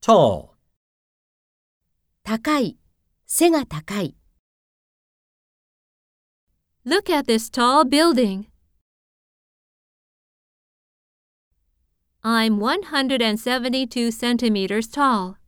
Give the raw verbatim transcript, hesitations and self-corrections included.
tall, 高い、背が高い。 Look at this tall building. I'm one hundred seventy-two centimeters tall.